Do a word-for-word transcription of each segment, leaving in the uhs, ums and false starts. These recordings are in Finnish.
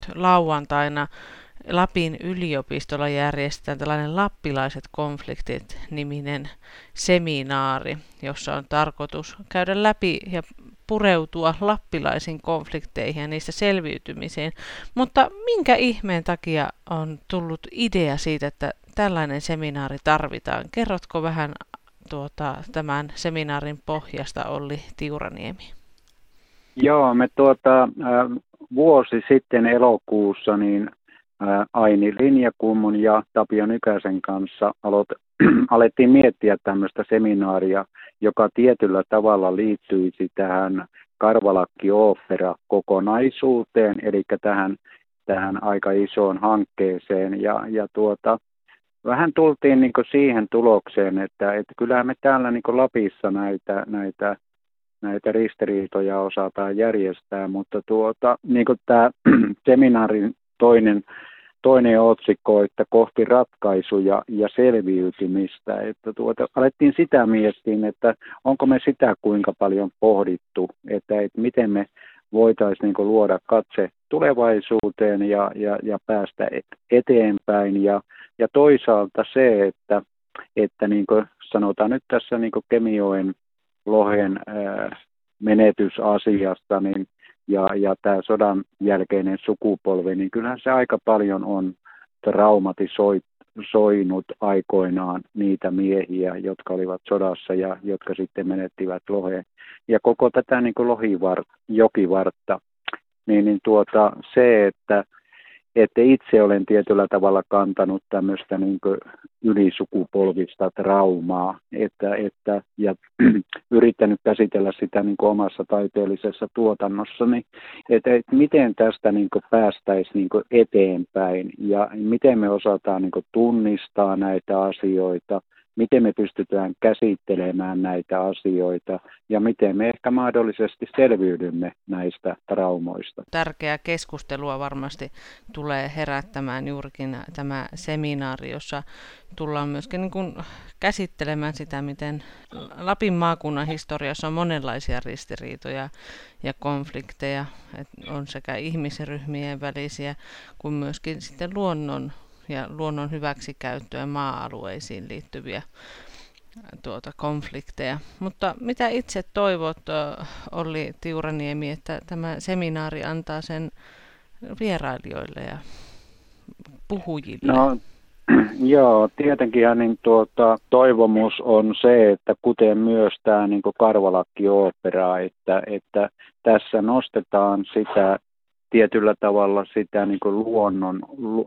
lauantaina Lapin yliopistolla järjestetään tällainen Lappilaiset konfliktit-niminen seminaari, jossa on tarkoitus käydä läpi ja pureutua lappilaisiin konflikteihin ja niistä selviytymiseen. Mutta minkä ihmeen takia on tullut idea siitä, että tällainen seminaari tarvitaan? Kerrotko vähän tuota, tämän seminaarin pohjasta, Olli Tiuraniemi? Joo, me tuota, äh, vuosi sitten elokuussa niin äh, Aini Linjakummun ja Tapio Nykäsen kanssa aloit, alettiin miettiä tämmöistä seminaaria, joka tietyllä tavalla liittyisi tähän Karvalakki-ooppera-kokonaisuuteen, eli tähän, tähän aika isoon hankkeeseen. Ja, ja tuota, vähän tultiin niin kuin siihen tulokseen, että, että kyllähän me täällä niin kuin Lapissa näitä, näitä näitä ristiriitoja osataan järjestää, mutta tuota, niin kuin tämä seminaarin toinen, toinen otsikko, että kohti ratkaisuja ja selviytymistä, että tuota, alettiin sitä miettiä, että onko me sitä kuinka paljon pohdittu, että, että miten me voitaisiin niin kuin luoda katse tulevaisuuteen ja, ja, ja päästä eteenpäin, ja, ja toisaalta se, että, että niin kuin sanotaan nyt tässä niin kuin Kemijoen lohen ää, menetysasiasta niin, ja, ja tämä sodan jälkeinen sukupolvi, niin kyllähän se aika paljon on traumatisoinut aikoinaan niitä miehiä, jotka olivat sodassa ja jotka sitten menettivät loheen. Ja koko tätä niin kuin lohivart, jokivartta, niin, niin tuota, se, että että itse olen tietyllä tavalla kantanut tämmöistä niin kuin ylisukupolvista traumaa, että, että, ja yrittänyt käsitellä sitä niin kuin omassa taiteellisessa tuotannossani, että, että miten tästä niin kuin päästäisiin niin kuin eteenpäin ja miten me osataan niin kuin tunnistaa näitä asioita, miten me pystytään käsittelemään näitä asioita ja miten me ehkä mahdollisesti selviydymme näistä traumoista. Tärkeää keskustelua varmasti tulee herättämään juurikin tämä seminaari, jossa tullaan myöskin niin kuin käsittelemään sitä, miten Lapin maakunnan historiassa on monenlaisia ristiriitoja ja konflikteja. Että on sekä ihmisryhmien välisiä kuin myöskin sitten luonnon ja luonnon hyväksikäyttöön maa-alueisiin liittyviä tuota, konflikteja. Mutta mitä itse toivot, Olli Tiuraniemi, että tämä seminaari antaa sen vierailijoille ja puhujille? No, joo, tietenkin niin tuota, toivomus on se, että kuten myös tämä niin Karvalakki-ooppera, että, että tässä nostetaan sitä tietyllä tavalla sitä niin kuin luonnon,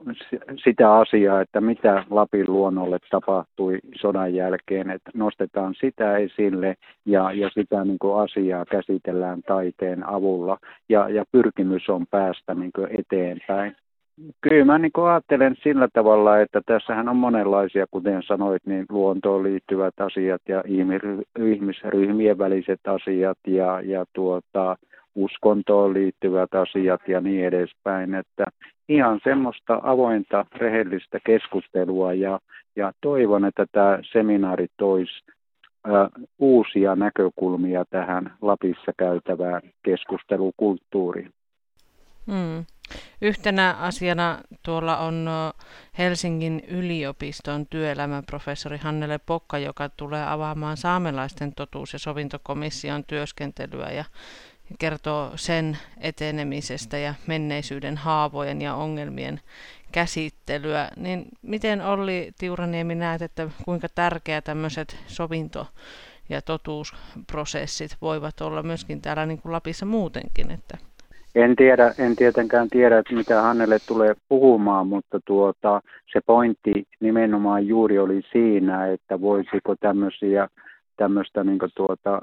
sitä asiaa, että mitä Lapin luonnolle tapahtui sodan jälkeen, että nostetaan sitä esille ja, ja sitä niin kuin asiaa käsitellään taiteen avulla ja, ja pyrkimys on päästä niin kuin eteenpäin. Kyllä mä niin kuin ajattelen sillä tavalla, että tässähän on monenlaisia, kuten sanoit, niin luontoon liittyvät asiat ja ihmisryhmien väliset asiat ja, ja tuota, uskontoon liittyvät asiat ja niin edespäin, että ihan semmoista avointa, rehellistä keskustelua ja, ja toivon, että tämä seminaari toisi ä, uusia näkökulmia tähän Lapissa käytävään keskustelukulttuuriin. Hmm. Yhtenä asiana tuolla on Helsingin yliopiston työelämäprofessori Hannele Pokka, joka tulee avaamaan saamelaisten totuus- ja sovintokomission työskentelyä ja kertoo sen etenemisestä ja menneisyyden haavojen ja ongelmien käsittelyä. Niin miten, Olli Tiuraniemi, näet, että kuinka tärkeä tämmöiset sovinto- ja totuusprosessit voivat olla myöskin täällä niin kuin Lapissa muutenkin? Että En tiedä, en tietenkään tiedä, että mitä Hannele tulee puhumaan, mutta tuota, se pointti nimenomaan juuri oli siinä, että voisiko tämmöisiä tämmöistä niin kuin tuota,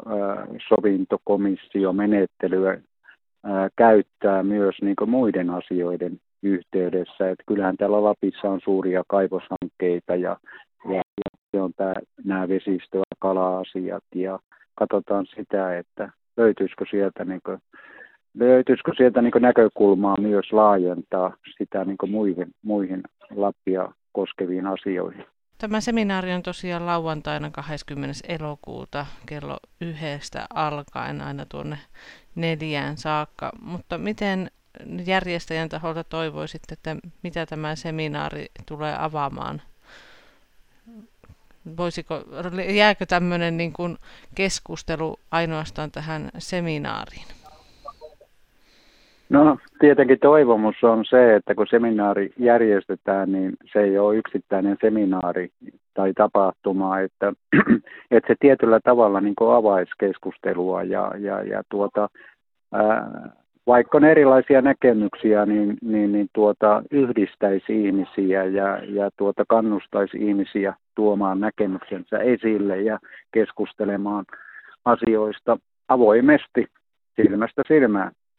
sovintokomissiomenettelyä käyttää myös niin kuin muiden asioiden yhteydessä. Että kyllähän täällä Lapissa on suuria kaivoshankkeita ja, ja, ja se on tämä, nämä vesistö- ja kala-asiat ja katsotaan sitä, että löytyisikö sieltä niin kuin Löytyisikö sieltä niin kuin näkökulmaa myös laajentaa sitä niin kuin muihin, muihin Lappia koskeviin asioihin? Tämä seminaari on tosiaan lauantaina kahdeskymmenes elokuuta kello yhdestä alkaen aina tuonne neljään saakka. Mutta miten järjestäjän taholta toivoisitte, että mitä tämä seminaari tulee avaamaan? Voisiko, jääkö tämmöinen niin kuin keskustelu ainoastaan tähän seminaariin? No tietenkin toivomus on se, että kun seminaari järjestetään, niin se ei ole yksittäinen seminaari tai tapahtuma, että, että se tietyllä tavalla niin kuin avaisi keskustelua ja, ja, ja tuota, ää, vaikka on erilaisia näkemyksiä, niin, niin, niin tuota, yhdistäisi ihmisiä ja, ja tuota, kannustaisi ihmisiä tuomaan näkemyksensä esille ja keskustelemaan asioista avoimesti silmästä silmään.